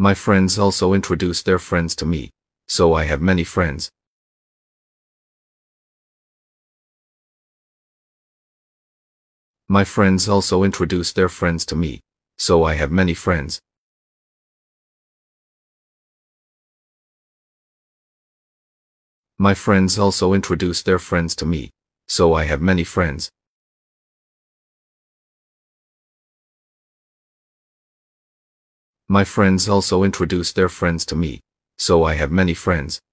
My friends also introduce their friends to me, so I have many friends. My friends also introduce their friends to me, so I have many friends. My friends also introduce their friends to me, so I have many friends. My friends also introduce their friends to me, so I have many friends.